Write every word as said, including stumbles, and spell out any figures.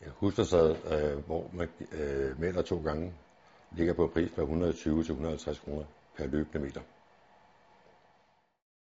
En husfacade, øh, hvor man øh, maler to gange, ligger på en pris på et hundrede og tyve til et hundrede og halvtreds kroner per løbende meter.